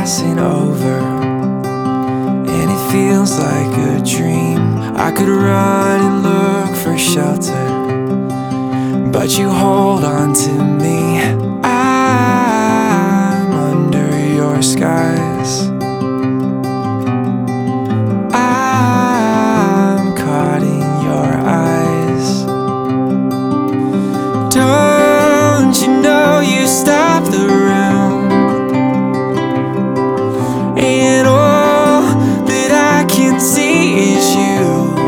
passing over, and it feels like a dream. I could run and look for shelter, but you hold on to me. I'm under your skies. I'm caught in your eyes. Don't you know you stop the room, and all that I can see is you.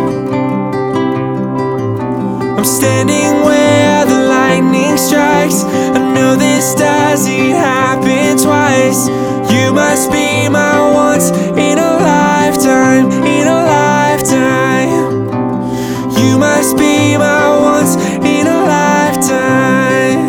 I'm standing where the lightning strikes. I know this doesn't happen twice. You must be my once in a lifetime, in a lifetime. You must be my once in a lifetime.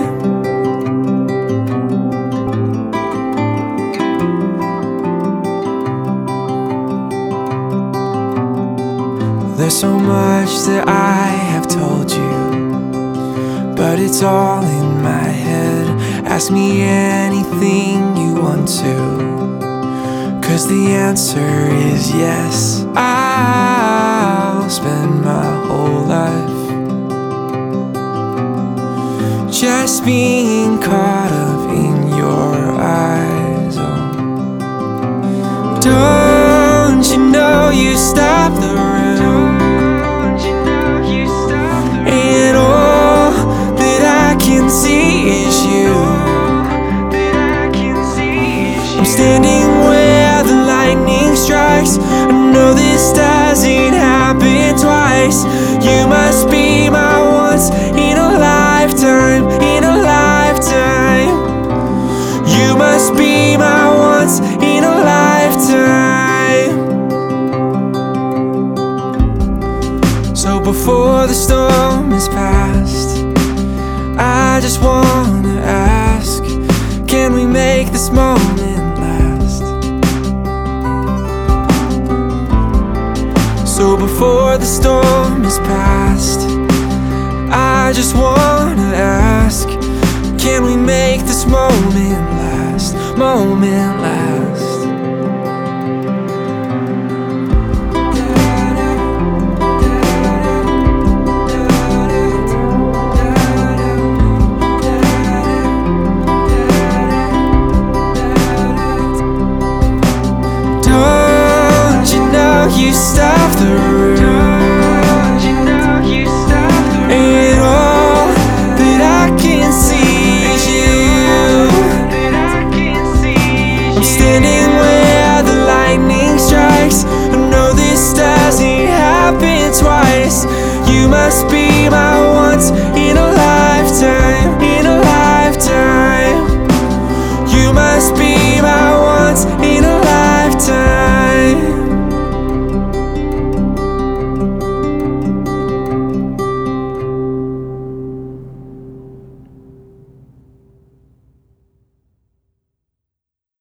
There's so much that I have told you, but it's all in my head. Ask me anything you want to, 'cause the answer is yes. I'll spend my whole life just being caught up in your eyes. Oh, don't you know you stop the room, and all that I can see is you. I'm standing where the lightning strikes. I know this doesn't happen twice. You must be my once in a lifetime, in a lifetime. You must be my once in a lifetime. So before the storm is past, I just wanna ask, can we make this moment last? So before the storm is past, I just wanna ask, can we make this moment last, moment last? You stop the room, and all that I can see is you. I'm standing where the lightning strikes. I know this doesn't happen twice. You must be my once in a lifetime.